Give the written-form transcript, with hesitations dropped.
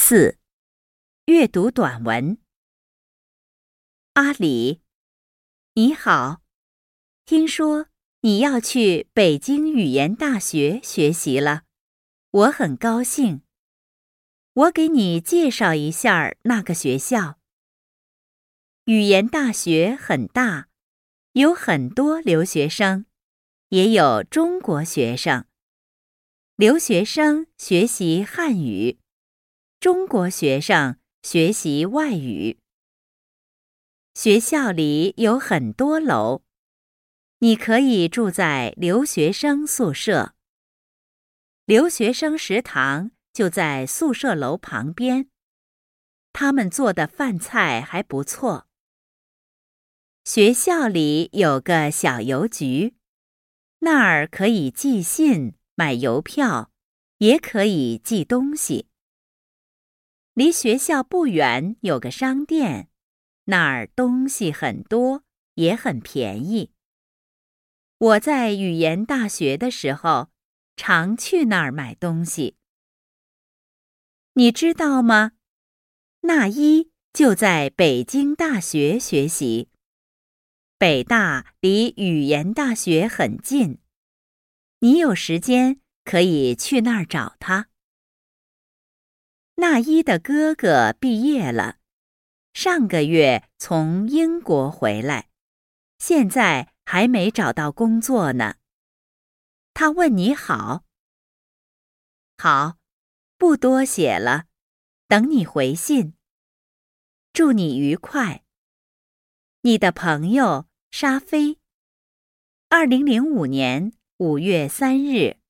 4. 阅读短文。阿里，你好，听说你要去北京语言大学学习了，我很高兴。我给你介绍一下那个学校。语言大学很大，有很多留学生，也有中国学生。留学生学习汉语，中国学生学习外语。学校里有很多楼，你可以住在留学生宿舍。留学生食堂就在宿舍楼旁边，他们做的饭菜还不错。学校里有个小邮局，那儿可以寄信、买邮票，也可以寄东西。离学校不远有个商店，那儿东西很多，也很便宜。我在语言大学的时候，常去那儿买东西。你知道吗？那一就在北京大学学习。北大离语言大学很近，你有时间可以去那儿找他。那一的哥哥毕业了，上个月从英国回来，现在还没找到工作呢。他问你好。好，不多写了，等你回信。祝你愉快。你的朋友沙飞。2005年5月3日。